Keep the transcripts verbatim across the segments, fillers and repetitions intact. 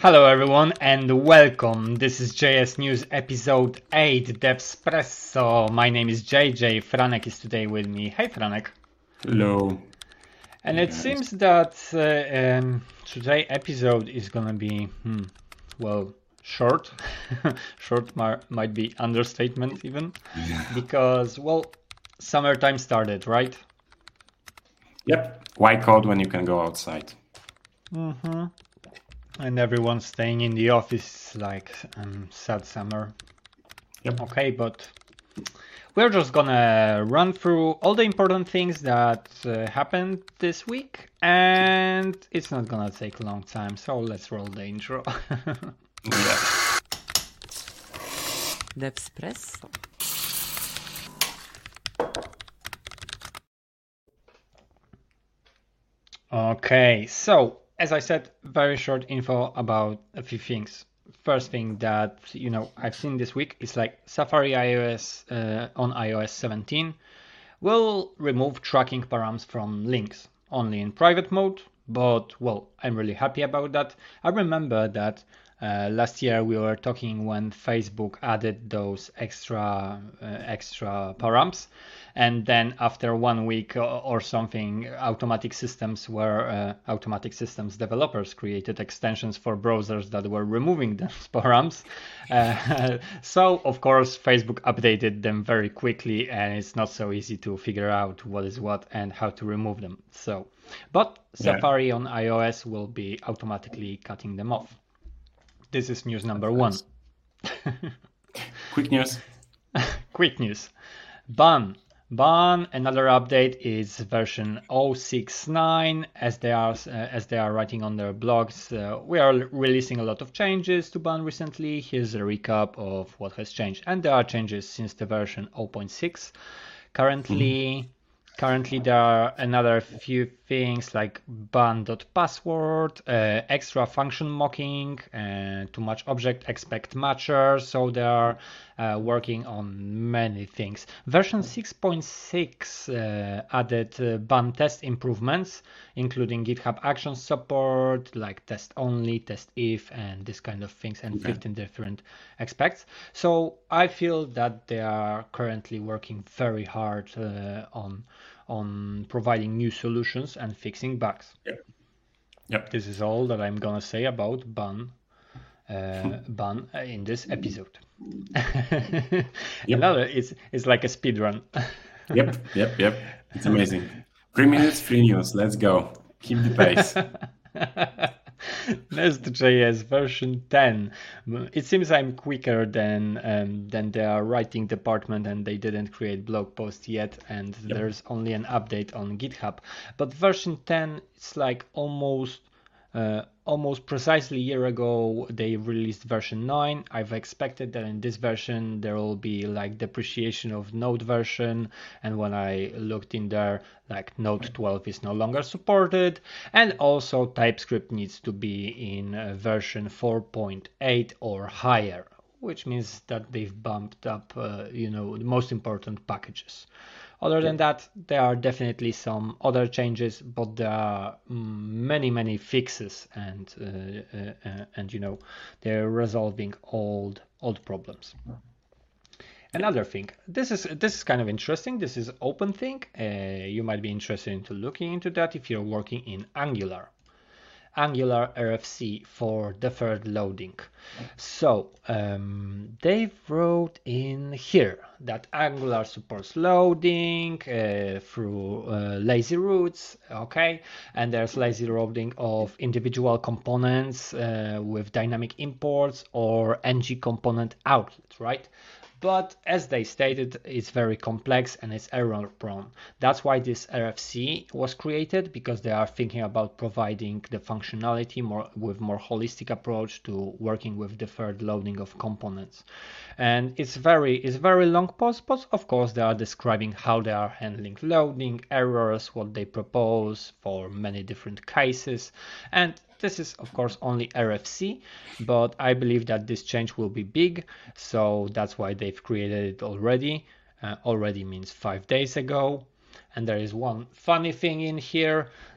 Hello everyone and welcome. This is J S News episode eight, Devspresso. My name is J J. Franek is today with me. Hey Franek. Hello. And Hey, it guys. seems that uh, um, today episode is gonna be, hmm, well, short. Short mar- might be understatement even. Because, well, summertime started, right? Yep. Why cold when you can go outside? Mm-hmm. And everyone's staying in the office like um, sad summer. Yep. Okay, but we're just gonna run through all the important things that uh, happened this week, and it's not gonna take a long time, so let's roll the intro. Yeah. Devspresso. Okay, so as I said, very short info about a few things. First thing that you know I've seen this week is like Safari iOS uh, on i O S seventeen will remove tracking params from links only in private mode, but well, I'm really happy about that. I remember that uh, last year we were talking when Facebook added those extra uh, extra params, and then after one week or something, automatic systems were uh, automatic systems developers created extensions for browsers that were removing those params. Uh, so of course Facebook updated them very quickly, and it's not so easy to figure out what is what and how to remove them. So, but Safari on iOS will be automatically cutting them off. This is news number one. Quick news. Quick news. Ban. Ban. Another update is version zero six nine. As they are uh, as they are writing on their blogs, uh, we are releasing a lot of changes to Ban recently. Here's a recap of what has changed, and there are changes since the version zero point six. Currently. Mm-hmm. Currently, there are another few things like ban.password, uh, extra function mocking, uh, too much object expect matcher. So they are uh, working on many things. Version six point six uh, added uh, ban test improvements, including GitHub Actions support, like test only, test if, and this kind of things, and okay. fifteen different aspects. So I feel that they are currently working very hard uh, on on providing new solutions and fixing bugs. Yep. Yep. This is all that I'm gonna say about ban uh, ban in this episode. Yep. Another is is like a speed run. Yep, yep, yep. It's amazing. Three minutes, three news. Let's go. Keep the pace. Nest.js version ten. It seems I'm quicker than um, than their writing department, and they didn't create blog post yet, and yep. There's only an update on GitHub. But version ten, it's like almost uh, almost precisely a year ago they released version nine. I've expected that in this version there will be like depreciation of Node version, and when I looked in there, like Node twelve is no longer supported, and also TypeScript needs to be in uh, version four point eight or higher, which means that they've bumped up uh, you know the most important packages. Other than that, there are definitely some other changes, but there are many, many fixes, and uh, uh, uh, and you know they're resolving old old problems. Another thing, this is this is kind of interesting. This is open thing. Uh, you might be interested into looking into that if you're working in Angular. Angular R F C for deferred loading. So um, they wrote in here that Angular supports loading uh, through uh, lazy routes, okay, and there's lazy loading of individual components uh, with dynamic imports or ng component outlet, right? But as they stated, it's very complex and it's error prone. That's why this R F C was created, because they are thinking about providing the functionality more with more holistic approach to working with deferred loading of components. And it's very it's very long post, but of course they are describing how they are handling loading, errors, what they propose for many different cases. And this is of course only R F C, but I believe that this change will be big, so that's why they've created it already. Uh, already means five days ago. And there is one funny thing in here.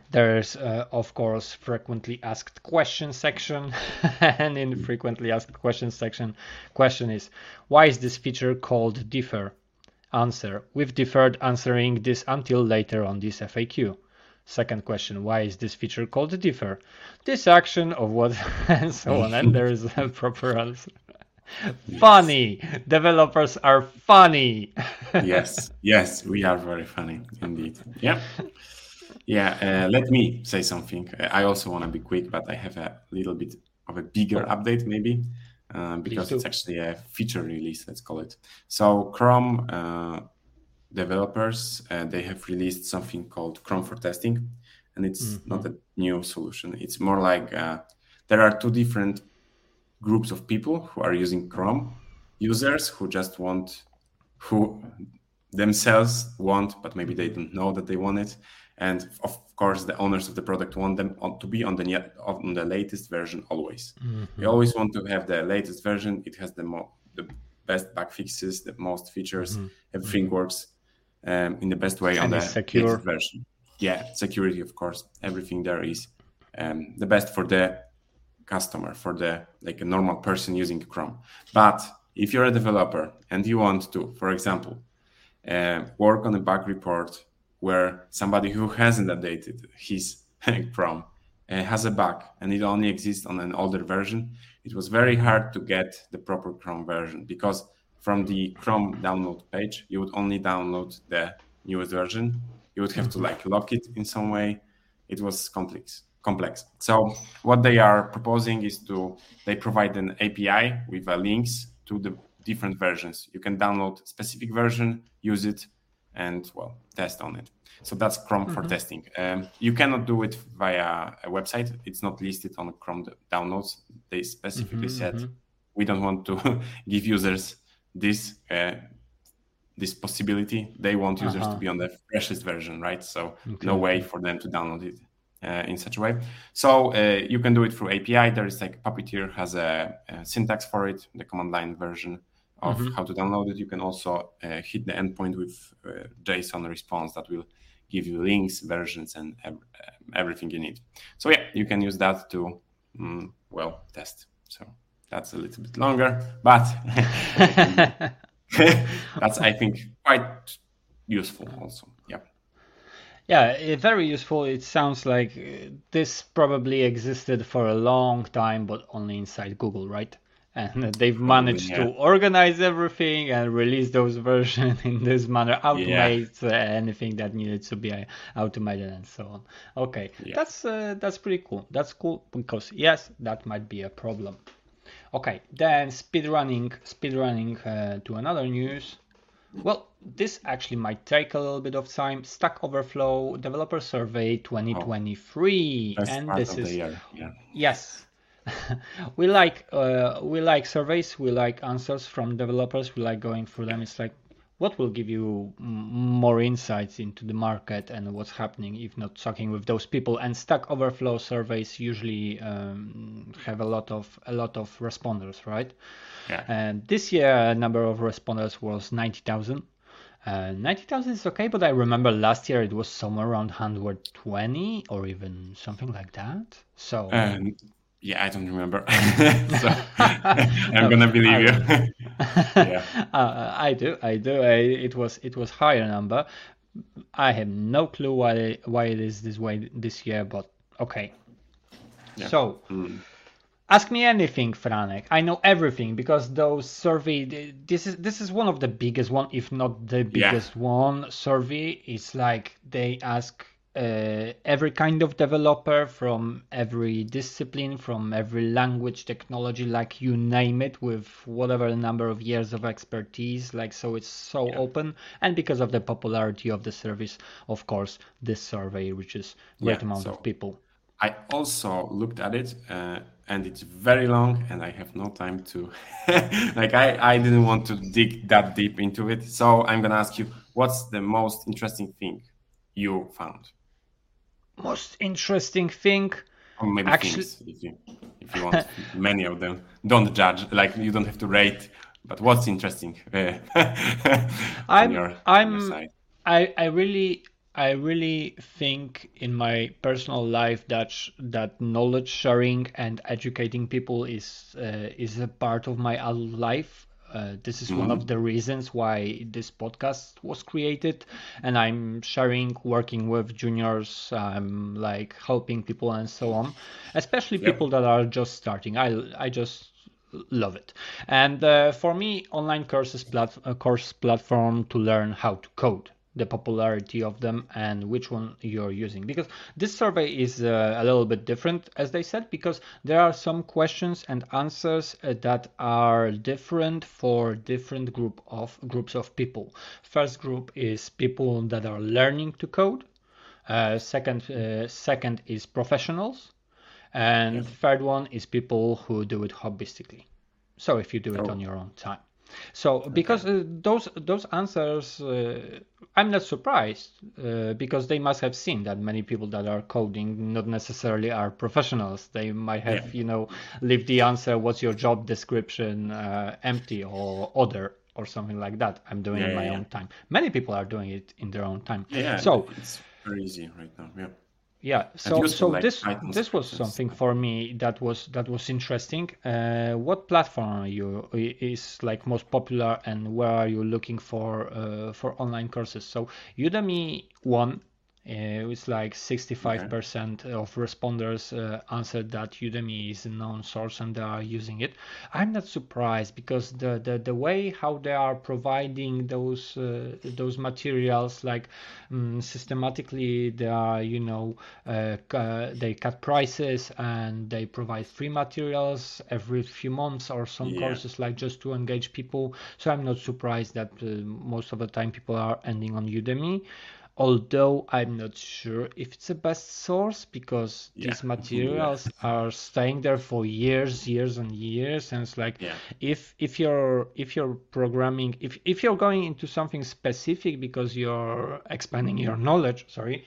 There's, uh, of course, frequently asked questions section. And in frequently asked questions section, question is, why is this feature called differ? Answer, we've deferred answering this until later on this F A Q. Second question, why is this feature called differ? This action of what, and so on. And there is a proper answer. Yes. Funny. Developers are funny. Yes, yes, we are very funny indeed. Yeah. Yeah, uh, let me say something. I also want to be quick, but I have a little bit of a bigger oh. update maybe, uh, because it's actually a feature release, let's call it. So Chrome uh, developers, uh, they have released something called Chrome for testing, and it's mm-hmm. not a new solution. It's more like uh, there are two different groups of people who are using Chrome, users who just want, who themselves want, but maybe they don't know that they want it. And of course, the owners of the product want them to be on the on the latest version always. Mm-hmm. We always want to have the latest version. It has the mo- the best bug fixes, the most features. Mm-hmm. Everything mm-hmm. works um, in the best way and on the secure. latest version. Yeah, security, of course. Everything there is um, the best for the customer, for the like a normal person using Chrome. But if you're a developer and you want to, for example, uh, work on a bug report where somebody who hasn't updated his Chrome uh, has a bug and it only exists on an older version, it was very hard to get the proper Chrome version, because from the Chrome download page, you would only download the newest version. You would have to like lock it in some way. It was complex. complex. So what they are proposing is to, they provide an A P I with uh, links to the different versions. You can download a specific version, use it, and well, test on it. So that's Chrome mm-hmm. for testing. Um, you cannot do it via a website. It's not listed on Chrome downloads. They specifically mm-hmm, said, mm-hmm. we don't want to give users this uh, this possibility. They want users uh-huh. to be on the freshest version, right? So okay. no way for them to download it uh, in such a way. So uh, you can do it through A P I. There is like Puppeteer has a, a syntax for it, the command line version of mm-hmm. how to download it. You can also uh, hit the endpoint with uh, JSON response that will give you links, versions, and ev- everything you need. So yeah, you can use that to, um, well, test. So that's a little bit longer, but that's, I think, quite useful also. Yeah. Yeah, very useful. It sounds like this probably existed for a long time, but only inside Google, right? And they've managed yeah. to organize everything and release those versions in this manner, automate yeah. anything that needed to be automated and so on. Okay, yeah. that's uh, that's pretty cool. That's cool because yes, that might be a problem. Okay, then speedrunning, speedrunning uh, to another news. Well, this actually might take a little bit of time. Stack Overflow Developer Survey twenty twenty-three, oh, and this is yeah. yes. we like uh, we like surveys, we like answers from developers, we like going through them. It's like, what will give you m- more insights into the market and what's happening, if not talking with those people. And Stack Overflow surveys usually um, have a lot of a lot of responders, right? Yeah. And this year, number of responders was ninety thousand. Uh, ninety thousand is okay, but I remember last year it was somewhere around one hundred twenty or even something like that. So. Um... Yeah, I don't remember. So I'm gonna believe you. yeah. uh, I do, I do. I, it was it was higher number. I have no clue why why it is this way this year, but okay. Yeah. So, mm. ask me anything, Franek. I know everything because those survey. This is this is one of the biggest one, if not the biggest yeah. one. Survey. It's like they ask. Uh, every kind of developer from every discipline, from every language, technology, like you name it, with whatever number of years of expertise. Like, so it's so yeah. open. And because of the popularity of the service, of course, this survey reaches great yeah, amount so of people. I also looked at it uh, and it's very long and I have no time to, like I, I didn't want to dig that deep into it. So I'm going to ask you, what's the most interesting thing you found? Most interesting thing, or maybe actually, things, if you if you want many of them. Don't judge, like you don't have to rate. But what's interesting? Uh, I'm your, I'm I I really I really think in my personal life that sh- that knowledge sharing and educating people is uh, is a part of my adult life. Uh, this is one of Mm-hmm. the reasons why this podcast was created, and I'm sharing, working with juniors, I'm like helping people and so on, especially people Yep. that are just starting. I I just love it. And uh, for me, online courses plat- a course platform to learn how to code, the popularity of them and which one you're using, because this survey is uh, a little bit different, as they said, because there are some questions and answers uh, that are different for different group of groups of people. First group is people that are learning to code. Uh, second uh, second is professionals, and Yep. third one is people who do it hobbystically. So if you do it on Oh, your own time. So okay. because uh, those those answers, uh, I'm not surprised uh, because they must have seen that many people that are coding not necessarily are professionals. They might Yeah. have, you know, leave the answer, what's your job description, uh, empty or other or something like that. I'm doing Yeah. in Yeah. my Yeah. own time. Many people are doing it in their own time. Yeah. Yeah. So It's very easy right now. Yeah. yeah, And so useful so like this Python this was scripts and something stuff. for me that was that was interesting. Uh, what platform are you i- is like most popular, and where are you looking for uh, for online courses? So Udemy won. Uh, it's like Okay. sixty-five percent of responders uh, answered that Udemy is a known source and they are using it. I'm not surprised because the the, the way how they are providing those uh, those materials, like um, systematically, they are, you know, uh, uh, they cut prices and they provide free materials every few months, or some Yeah. courses like just to engage people. So I'm not surprised that uh, most of the time people are ending on Udemy, although I'm not sure if it's the best source because Yeah. these Neither. materials are staying there for years, years and years. And it's like, Yeah. if if you're if you're programming, if if you're going into something specific because you're expanding your knowledge, sorry,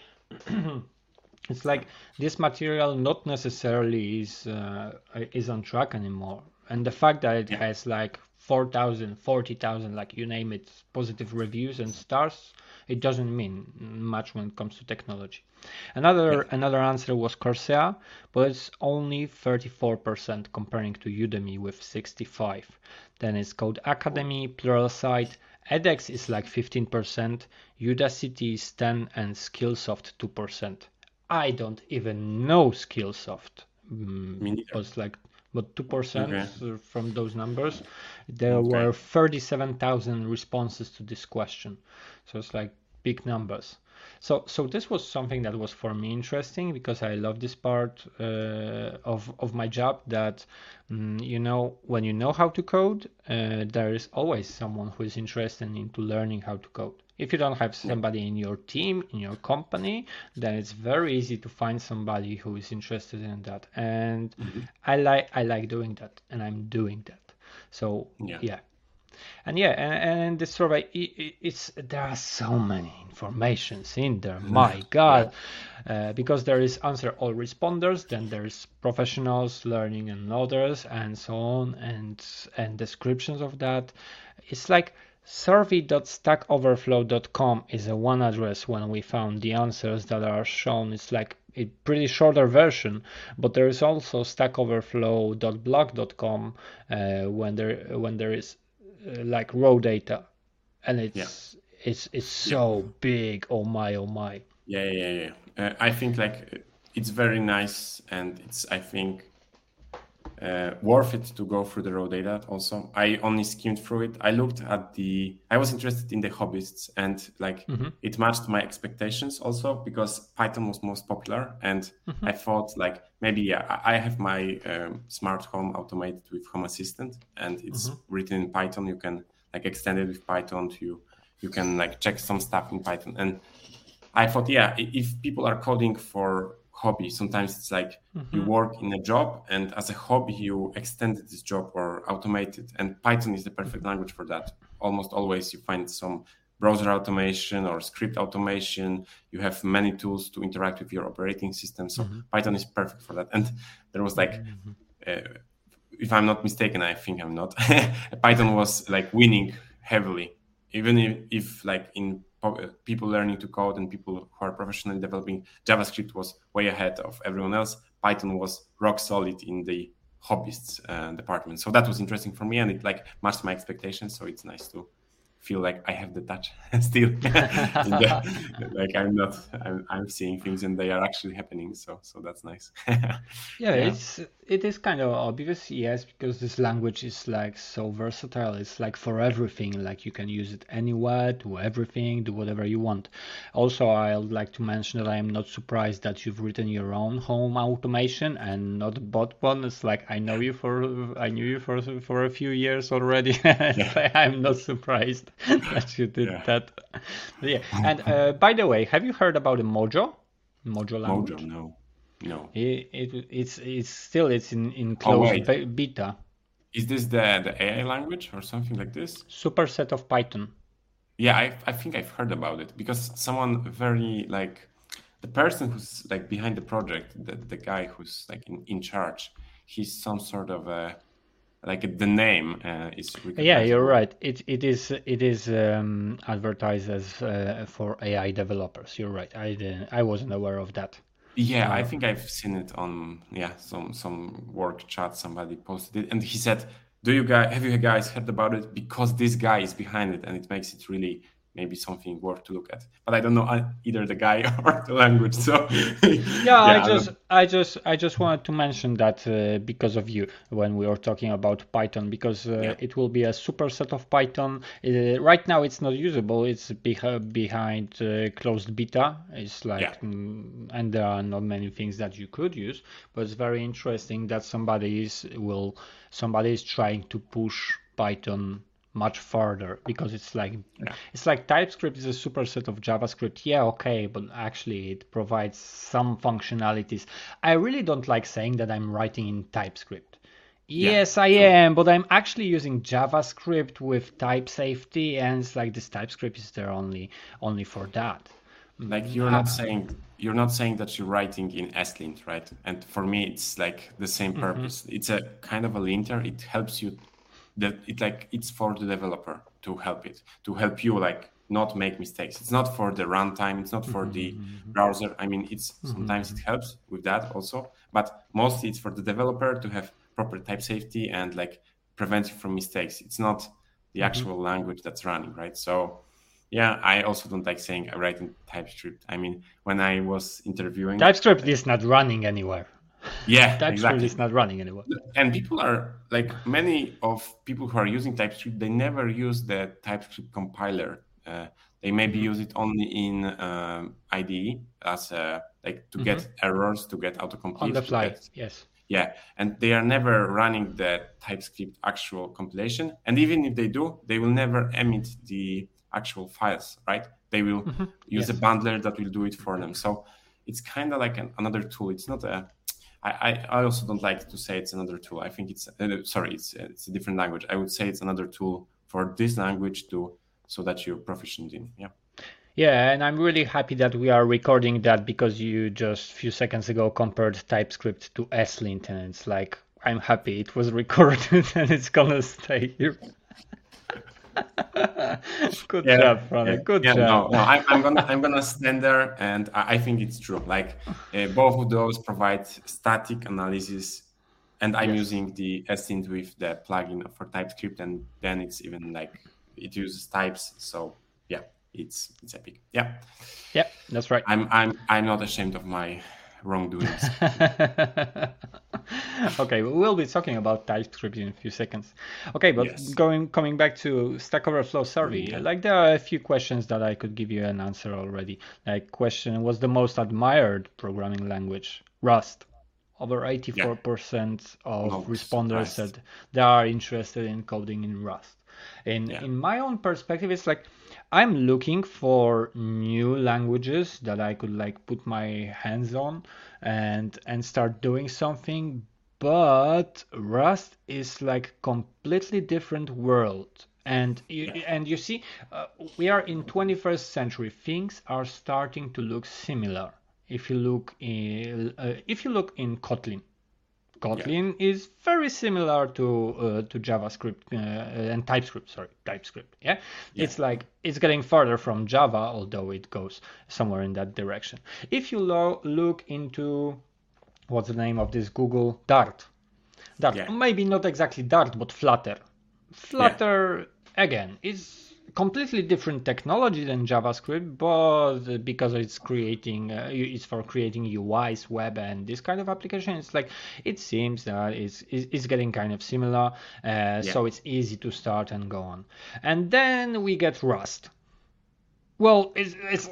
it's Yeah. like this material not necessarily is uh, is on track anymore. And the fact that it Yeah. has like four thousand, forty thousand, like you name it, positive reviews and stars, it doesn't mean much when it comes to technology. Another Yeah. another answer was Coursera, but it's only thirty-four percent comparing to Udemy with sixty-five. Then it's Code Oh, Academy, Pluralsight, edX is like fifteen percent, Udacity is ten, and Skillsoft two percent. I don't even know Skillsoft, mm, me neither. but it's like but two percent Okay. from those numbers. There Okay. were thirty-seven thousand responses to this question. So it's like big numbers. So, so this was something that was for me interesting because I love this part uh, of of my job. That mm, you know, when you know how to code, uh, there is always someone who is interested into learning how to code. If you don't have Yeah. somebody in your team, in your company, then it's very easy to find somebody who is interested in that. And Mhm. I like I like doing that, and I'm doing that. So Yeah. yeah, and yeah, and, and the survey, it, it's there are so many informations in there. My Yeah. God, uh, because there is answer all responders, then there's professionals, learning, and others, and so on, and and descriptions of that. It's like survey dot stack overflow dot com is a one address when we found the answers that are shown. It's like a pretty shorter version, but there is also stack overflow dot blog dot com uh, when there when there is uh, like raw data, and Yeah. it's it's it's Yeah. so big. Oh my, oh my. Yeah. Yeah. Yeah. Yeah. Uh, I think like uh, it's very nice, and it's I think uh, worth it to go through the raw data. Also, I only skimmed through it. I looked at the. I was interested in the hobbyists, and like Mm-hmm, it matched my expectations also because Python was most popular, and mm-hmm, I thought like maybe yeah I I have my um, smart home automated with Home Assistant, and mm-hmm, it's written in Python. You can like extend it with Python to you. You can like check some stuff in Python, and I thought, yeah, i- if people are coding for hobby, sometimes it's like you mm-hmm. work in a job and as a hobby you extended this job or automate it. And Python is the perfect language for that. Almost always you find some browser automation or script automation. You have many tools to interact with your operating system. So Mm-hmm. Python is perfect for that. And there was like, Mm-hmm. uh, if I'm not mistaken, I think I'm not. Python was like winning heavily, even if, if like in people learning to code and people who are professionally developing, JavaScript was way ahead of everyone else. Python was rock solid in the hobbyists uh, department. So that was interesting for me, and it like matched my expectations. So it's nice to feel like I have the touch still. the, like I'm not, I'm, I'm seeing things and they are actually happening. So, so that's nice. yeah, Yeah. it's it is kind of obvious, yes, because this language is like so versatile. It's like for everything. Like you can use it anywhere, do everything, do whatever you want. Also, I'd like to mention that I am not surprised that you've written your own home automation and not bought one. It's like I know you for I knew you for for a few years already. Yeah. I'm not surprised that you did Yeah. that. Yeah, and uh, by the way, have you heard about the Mojo? Mojo language? Mojo, no, no. It, it it's it's still it's in in Oh, closed wait. be- beta. Is this the, the A I language or something like this? Superset of Python. Yeah, I, I think I've heard about it because someone very like the person who's like behind the project, the, the guy who's like in, in charge, he's some sort of a like the name uh, is Yeah, you're recognizable. right. It it is it is um, advertised as uh, for A I developers. You're right. I didn't, I wasn't aware of that. Yeah, I Uh, think I've seen it on yeah some some work chat. Somebody posted it, and he said, "Do you guys have you guys heard about it? Because this guy is behind it, and it makes it really maybe something worth to look at." But I don't know uh, either the guy or the language, so Yeah, I yeah, I'm just, not, I just, I just wanted to mention that uh, because of you when we were talking about Python, because uh, yeah, it will be a superset of Python. Uh, right now, it's not usable. It's beh- behind uh, closed beta. It's yeah, like, mm, and there are not many things that you could use. But it's very interesting that somebody is will, somebody is trying to push Python much further because it's like yeah, it's like TypeScript is a superset of JavaScript. Yeah, okay, but actually it provides some functionalities. I really don't like saying that I'm writing in TypeScript. yeah. Yes, I True. am, but I'm actually using JavaScript with type safety, and it's like this TypeScript is there only only for that. Like Mm, you're uh, not saying you're not saying that you're writing in ESLint, right? And for me, it's like the same mhm, purpose. It's a kind of a linter. It helps you that it like it's for the developer to help it to help you like not make mistakes. It's not for the runtime. It's not for the mhm, browser. I mean, it's sometimes it mhm, helps with that also, but mostly it's for the developer to have proper type safety and like prevent you from mistakes. It's not the mhm. actual language that's running, right? So yeah, I also don't like saying I write in TypeScript. I mean, when I was interviewing, TypeScript like, is not running anywhere. yeah, TypeScript exactly. is not running anywhere. And people are like many of people who are using TypeScript, they never use the TypeScript compiler. Uh, they maybe Mhm, use it only in um, I D E as a, like to mhm. get errors, to get On the autocomplete, to fly, get yes. yeah, and they are never running the TypeScript actual compilation. And even if they do, they will never emit the actual files, right? They will Mhm, use a yes. bundler that will do it for them. So it's kind of like an, another tool. It's not a. I, I I also don't like to say it's another tool. I think it's uh, sorry, it's it's a different language. I would say it's another tool for this language to so that you're proficient in. Yeah. Yeah, and I'm really happy that we are recording that because you just a few seconds ago compared TypeScript to ESLint, and it's like I'm happy it was recorded and it's gonna stay here. Good Yeah, job, yeah, Franek. Good yeah. No, job. no. I'm, I'm gonna, I'm gonna stand there, and I, I think it's true. Like uh, both of those provide static analysis, and I'm Yes. using the ESLint with the plugin for TypeScript, and then it's even like it uses types. So yeah, it's it's epic. Yeah, Yeah, that's right. I'm, I'm, I'm not ashamed of my wrongdoings. Okay, we'll be talking about TypeScript in a few seconds. Okay, but Yes. going coming back to Stack Overflow survey, Yeah. like there are a few questions that I could give you an answer already. Like question, what's the most admired programming language? Rust. Over Yeah. eighty-four percent of No responders surprise. said they are interested in coding in Rust. In Yeah. in my own perspective, it's like I'm looking for new languages that I could like put my hands on and and start doing something. But Rust is like completely different world. And you, Yeah. and you see, uh, we are in twenty-first century. Things are starting to look similar. If you look in, uh, if you look in Kotlin, Kotlin yeah. is very similar to uh, to JavaScript uh, and TypeScript. Sorry, TypeScript. Yeah? yeah, it's like it's getting further from Java, although it goes somewhere in that direction. If you lo- look into what's the name of this Google Dart, Dart, yeah. maybe not exactly Dart, but Flutter. Flutter yeah. again is completely different technology than JavaScript, but because it's creating, uh, it's for creating U Is, web, and this kind of application, it's like it seems that it's it's getting kind of similar, uh, yeah. so it's easy to start and go on. And then we get Rust. Well, it's, it's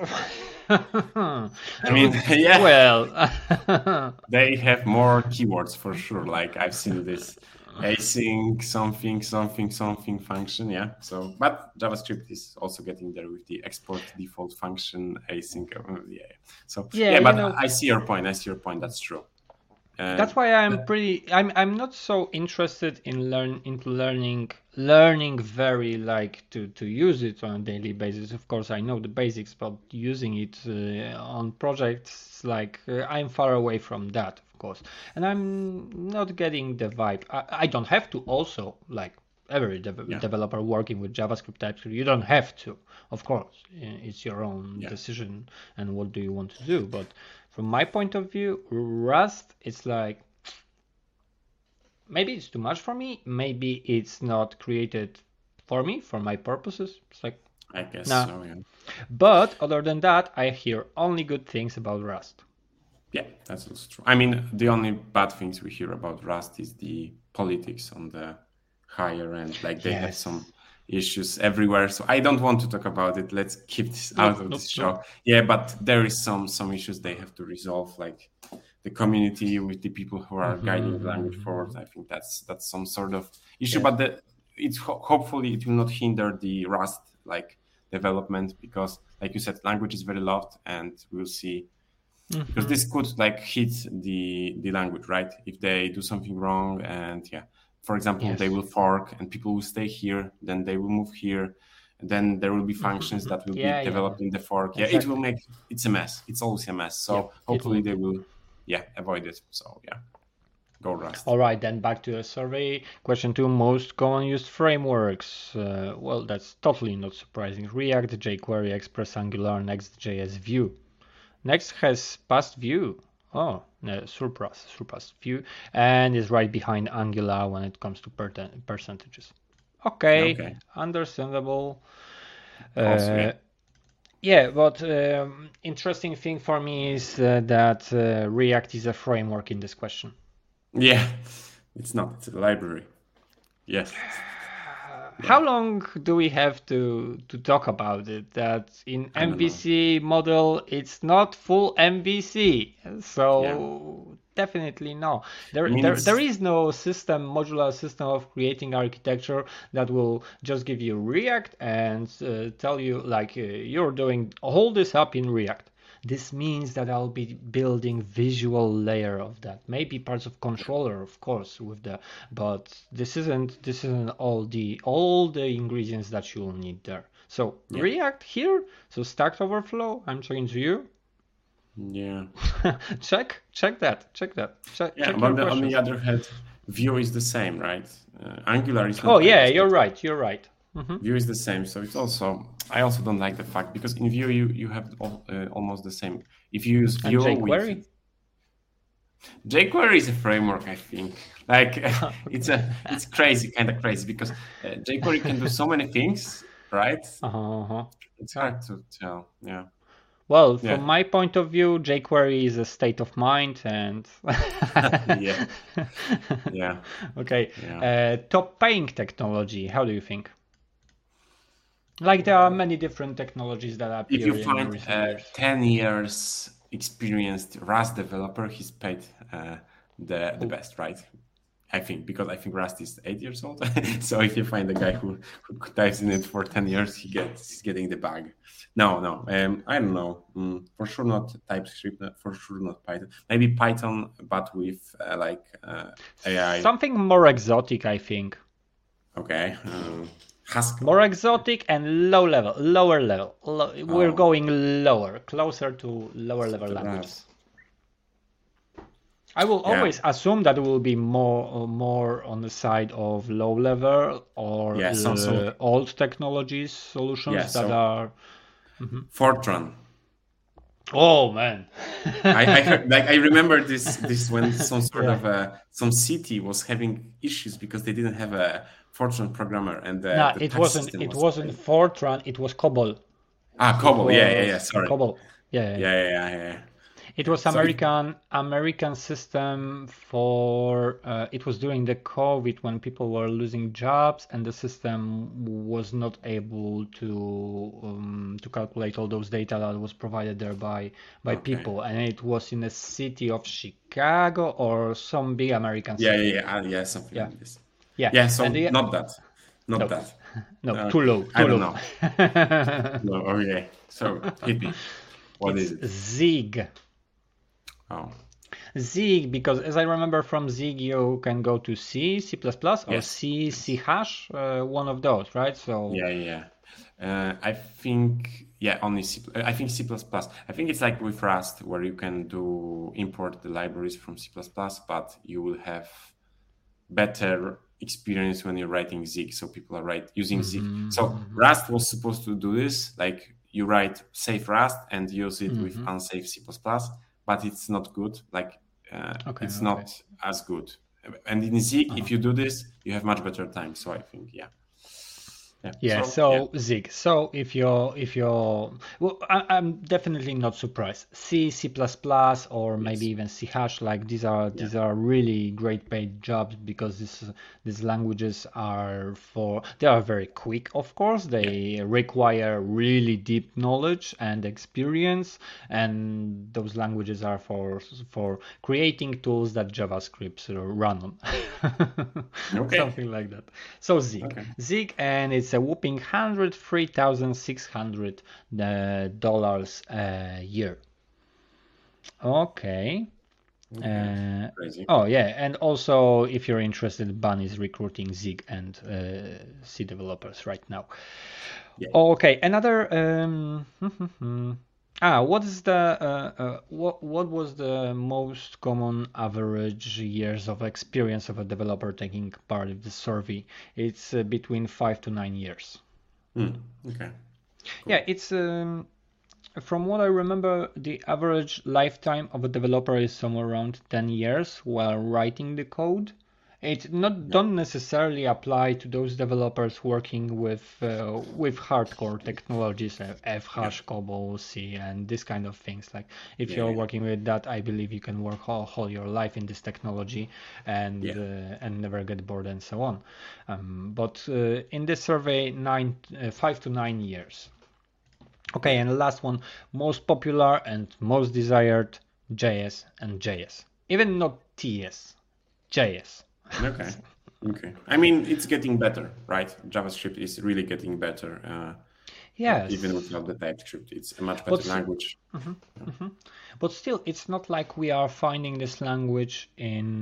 I mean, yeah. Well, they have more keywords for sure. Like I've seen this async something something something function. Yeah. So, but JavaScript is also getting there with the export default function async. Uh, yeah. So yeah, yeah but know, I see your point. I see your point. That's true. Uh, that's why I'm pretty. I'm I'm not so interested in learn into learning learning very like to to use it on a daily basis. Of course, I know the basics, but using it uh, on projects like uh, I'm far away from that, of course, and I'm not getting the vibe. I, I don't have to also like every de- yeah. developer working with JavaScript, TypeScript. You don't have to, of course. It's your own yeah. decision and what do you want to do, but. From my point of view, Rust, it's like, maybe it's too much for me. Maybe it's not created for me, for my purposes. It's like, I guess nah. so, yeah. But other than that, I hear only good things about Rust. Yeah, that's also true. I mean, the only bad things we hear about Rust is the politics on the higher end. Like they yes. have some issues everywhere, so I don't want to talk about it. Let's keep this out nope, of this nope, show. Nope. Yeah, but there is some some issues they have to resolve, like the community with the people who are mm-hmm. guiding the language forward. I think that's that's some sort of issue, yeah. but the, it's ho- hopefully it will not hinder the Rust like development because, like you said, language is very loved, and we'll see mm-hmm. because this could like hit the the language, right? If they do something wrong, and yeah. For example, yes. they will fork and people will stay here, then they will move here, and then there will be functions that will yeah, be developed yeah. in the fork. Yeah, exactly. It will make, it's a mess. It's always a mess. So yeah, hopefully will they will, yeah, avoid it. So yeah, go Rust. All right, then back to a survey. Question two, most common used frameworks. Uh, well, that's totally not surprising. React, jQuery, Express, Angular, Next.js, Vue. Next has past Vue. Oh, no, surpass, surpass Vue, and is right behind Angular when it comes to per- percentages. Okay, okay. Understandable. Also, uh, yeah. yeah, but um, interesting thing for me is uh, that uh, React is a framework in this question. Yeah, it's not. It's a library. Yes. How long do we have to, to talk about it? That in M V C model, it's not full M V C. So yeah. definitely no. There, I mean, there, there is no system, modular system of creating architecture that will just give you React and uh, tell you like uh, you're doing all this up in React. This means that I'll be building visual layer of that. Maybe parts of controller, of course, with the, but this isn't this isn't all the all the ingredients that you'll need there. So yeah. React here. So Stack Overflow. I'm talking to you. Yeah. check check that. Check that. Check, yeah, check but the, on the other hand, Vue is the same, right? Uh, Angular is. Oh yeah, you're right. You're right. Mm-hmm. Vue is the same, so it's also. I also don't like the fact because in Vue you you have all, uh, almost the same. If you use Vue, and jQuery. With, jQuery is a framework, I think. Like it's a it's crazy, kind of crazy because uh, jQuery can do so many things, right? Uh-huh. It's hard to tell. Yeah. Well, from yeah. my point of view, jQuery is a state of mind, and yeah, yeah. Okay. Yeah. Uh, top paying technology. How do you think? Like there are many different technologies that appear. If you find a ten years experienced Rust developer, he's paid uh, the the best, right? I think because I think Rust is eight years old. So if you find a guy who, who dives in it for ten years, he gets he's getting the bag. No, no, um, I don't know. Mm, for sure not TypeScript. For sure not Python. Maybe Python, but with uh, like uh, A I. Something more exotic, I think. Okay. Um, Haskell. More exotic and low level, lower level. Low, oh. We're going lower, closer to lower level languages. I will Yeah. always assume that it will be more more on the side of low level or Yeah, so, so uh, old technologies solutions yeah, that so are. Mhm. Fortran. Oh man. I, I heard, like I remember this this when some sort Yeah. of uh, some city was having issues because they didn't have a Fortran programmer and the, No, the it tax wasn't. system It was wasn't failing. Fortran. It was COBOL. Ah, It COBOL. Yeah, yeah, yeah. was Sorry. COBOL. Yeah, yeah, yeah. Yeah, yeah, yeah, yeah. It Yeah. was So it, American American system for. Uh, it was during the COVID when people were losing jobs, and the system was not able to um, to calculate all those data that was provided there by by okay. people, and it was in the city of Chicago or some big American Yeah, city. yeah, yeah, ah, yeah, something Yeah, like this. yeah, Yeah, so and the not that, not no, that. no, too Okay, low, I too don't low. know. No, okay. So hit me. What It's is it? Zig. Oh, Zig, because as I remember from Zig, you can go to C, C++, or yes, C, C yes. hash, uh, one of those, right? So Yeah, yeah. Uh, I think yeah, only C. I think C plus plus. I think it's like with Rust, where you can do import the libraries from C plus plus, but you will have better experience when you're writing Zig. So people are right using Zig. Mhm, So mhm, Rust was supposed to do this, like you write safe Rust and use it with mhm. unsafe C plus plus, but it's not good. Like uh, Okay, it's okay. not as good. And in Zig, Uh-huh. if you do this, you have much better time. So I think yeah. Yeah. Yeah, So yeah. so Zig. So if you're if you're well, I, I'm definitely not surprised. C, C++, or maybe Yes. even C hash, like these are Yeah. these are really great paid jobs because this these languages are for they are very quick, of course. They require really deep knowledge and experience, and those languages are for for creating tools that JavaScript run on. Okay. Something like that. So Zig. Okay. Zig, and it's a whopping one hundred three thousand six hundred dollars a year. Okay. Okay. Uh, Crazy. oh yeah, and also if you're interested, Ban is recruiting Zig and uh, C developers right now. Yeah. Okay, another. Um, ah, what is the uh, uh, what what was the most common average years of experience of a developer taking part of the survey? It's uh, between five to nine years. Hmm. Okay. Cool. Yeah, it's um, from what I remember, the average lifetime of a developer is somewhere around ten years while writing the code. It not Yeah. don't necessarily apply to those developers working with uh, with hardcore technologies, uh, F hash, COBOL, C, and this kind of things. Like if Yeah, you're yeah. working with that, I believe you can work all, all your life in this technology and Yeah. uh, and never get bored and so on. Um, but uh, in this survey, nine, uh, five to nine years. Okay, and the last one, most popular and most desired, J S and J S. Even not T S, J S. Okay. Okay. I mean, it's getting better, right? JavaScript is really getting better. Uh, Yes. Even without the TypeScript, it's a much better But, language. mhm, mhm. But still, it's not like we are finding this language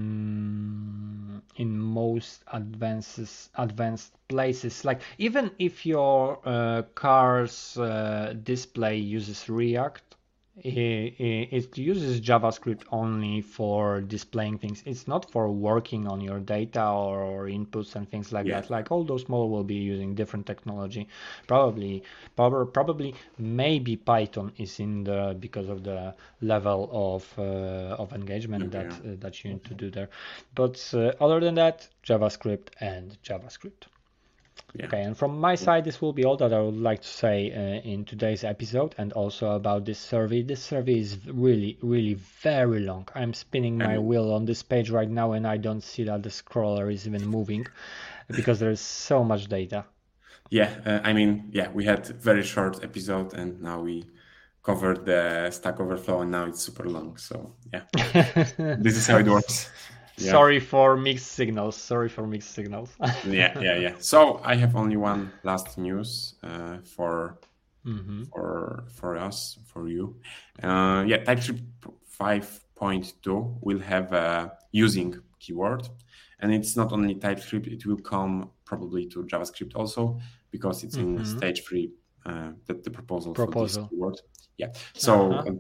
in in most advances advanced places. Like even if your uh, car's uh, display uses React, it, it uses JavaScript only for displaying things. It's not for working on your data or, or inputs and things like Yeah. that. Like all those models will be using different technology. Probably, probably, probably, maybe Python is in the because of the level of uh, of engagement Okay. that uh, that you need to do there. But uh, other than that, JavaScript and JavaScript. Yeah. Okay, and from my side, this will be all that I would like to say uh, in today's episode, and also about this survey. This survey is really, really very long. I'm spinning my I mean, wheel on this page right now, and I don't see that the scroller is even moving because there is so much data. yeah. Uh, I mean, yeah, we had very short episode, and now we covered the Stack Overflow, and now it's super long. So yeah, this is how it works. Yeah. Sorry for mixed signals. Sorry for mixed signals. yeah, yeah, yeah. So I have only one last news uh, for mm-hmm. for for us, for you. Uh, yeah, TypeScript five point two will have a using keyword, and it's not only TypeScript; it will come probably to JavaScript also because it's mm-hmm. in stage three. Uh, that the proposal, proposal for this keyword. Yeah. So. uh-huh. Uh,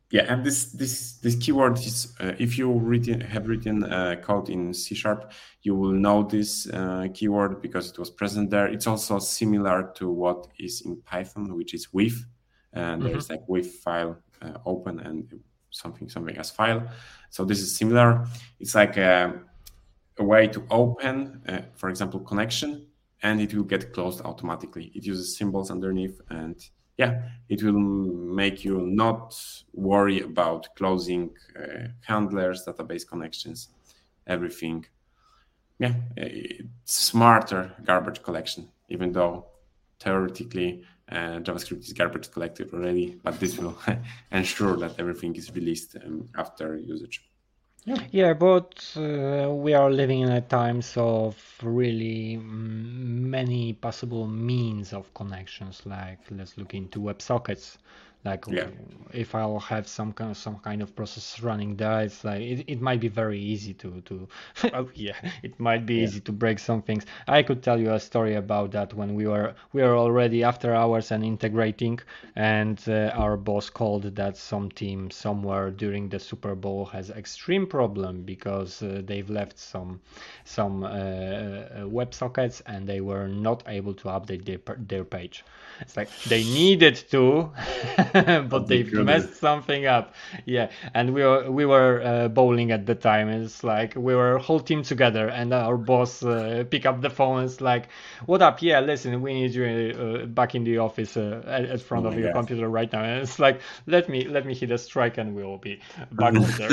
Yeah, and this this this keyword is uh, if you written, have written uh, code in C Sharp, you will know this uh, keyword because it was present there. It's also similar to what is in Python, which is with, and there's Mm-hmm. like with file uh, open and something something as file. So this is similar. It's like a, a way to open, uh, for example, connection, and it will get closed automatically. It uses symbols underneath, and yeah, it will make you not worry about closing uh, handlers, database connections, everything. Yeah, it's smarter garbage collection, even though theoretically uh, JavaScript is garbage collected already, but this will ensure that everything is released um, after usage. Yeah, yeah, but uh, we are living in a times of really mm, many possible means of connections. Like let's look into WebSockets. Like Yeah. if I'll have some kind of some kind of process running there, it's like it, it might be very easy to to oh yeah, it might be Yeah. easy to break some things. I could tell you a story about that when we were we were already after hours and integrating, and uh, our boss called that some team somewhere during the Super Bowl has extreme problem because uh, they've left some some uh, uh, WebSockets and they were not able to update their their page. It's like they needed to, but they they've couldn't. messed something up. Yeah, and we were we were uh, bowling at the time. It's like we were whole team together, and our boss uh, pick up the phone. It's like, "What up? Yeah, listen, we need you uh, back in the office uh, at, at front Oh of my your God. computer right now." And it's like, let me let me hit a strike, and we will be back later.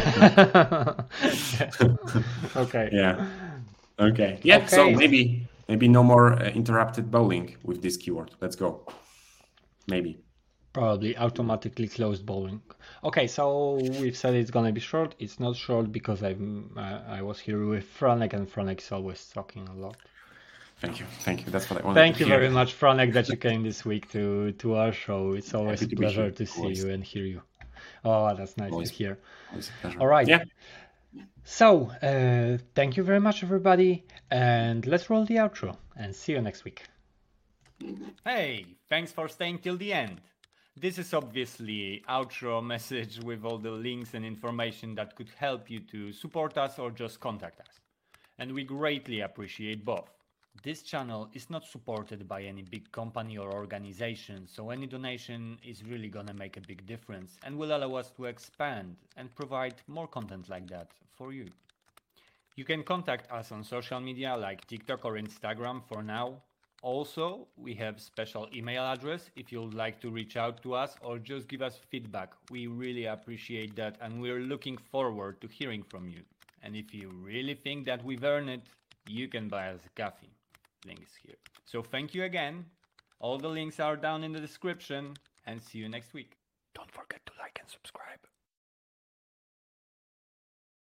Okay. Yeah. Okay. Yeah. Okay. So maybe maybe no more uh, interrupted bowling with this keyword. Let's go. Maybe. Probably automatically closed bowling. Okay, so we've said it's gonna be short. It's not short because I'm uh, I was here with Franek, and Franek is always talking a lot. Thank you. Thank you. That's what I wanted Thank to you hear. very much, Franek, that you came this week to to our show. It's always Happy a to be pleasure here. to see Always. you and hear you. Oh, that's nice Always. to hear. Always a pleasure. All right. Yeah. So, uh, thank you very much, everybody, and let's roll the outro and see you next week. Hey, thanks for staying till the end. This is obviously outro message with all the links and information that could help you to support us or just contact us. And we greatly appreciate both. This channel is not supported by any big company or organization, so any donation is really gonna make a big difference and will allow us to expand and provide more content like that for you. You can contact us on social media like TikTok or Instagram for now. Also, we have special email address if you'd like to reach out to us or just give us feedback. We really appreciate that and we're looking forward to hearing from you. And if you really think that we've earned it, you can buy us a coffee. Link is here. So thank you again. All the links are down in the description and see you next week. Don't forget to like and subscribe.